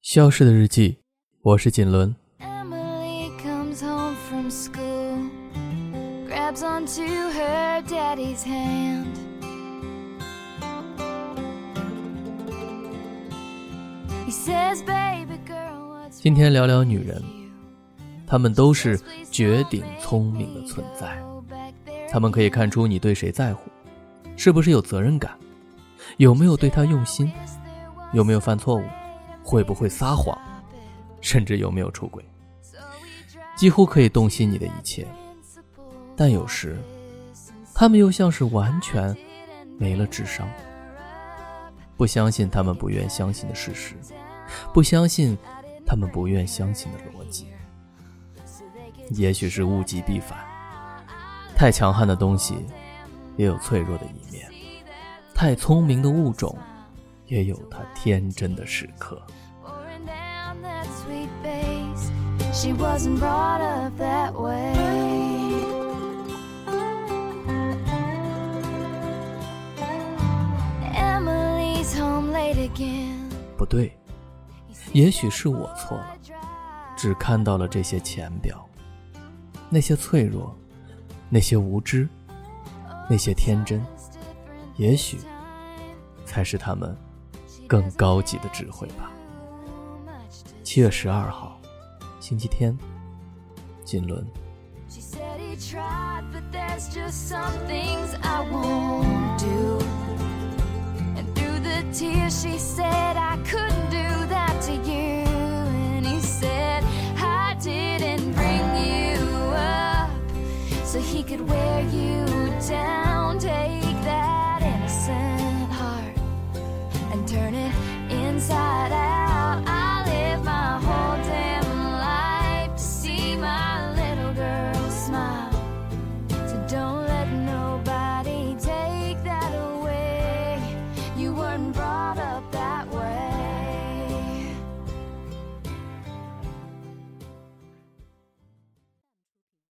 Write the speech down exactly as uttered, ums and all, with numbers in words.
消失的日记，我是锦纶。 Emily comes home from school, grabs onto her daddy's hand. He says, "Baby girl, what's 今天聊聊女人，她们都是绝顶聪明的存在。她们可以看出你对谁在乎，是不是有责任感，有没有对她用心，有没有犯错误，会不会撒谎，甚至有没有出轨，几乎可以洞悉你的一切。但有时他们又像是完全没了智商，不相信他们不愿相信的事实，不相信他们不愿相信的逻辑。也许是物极必反，太强悍的东西也有脆弱的一面，太聪明的物种也有它天真的时刻。 She wasn't brought up that way. Emily's home late again. 不对，也许是我错了，只看到了这些浅表，那些脆弱，那些无知，那些天真，也许才是他们更高级的智慧吧。七月十二号星期天，锦纶。 She said he tried, but there's just some things I won't do. And through the tears she said I couldn't do that to you. And he said I didn't bring you up so he could wear you down.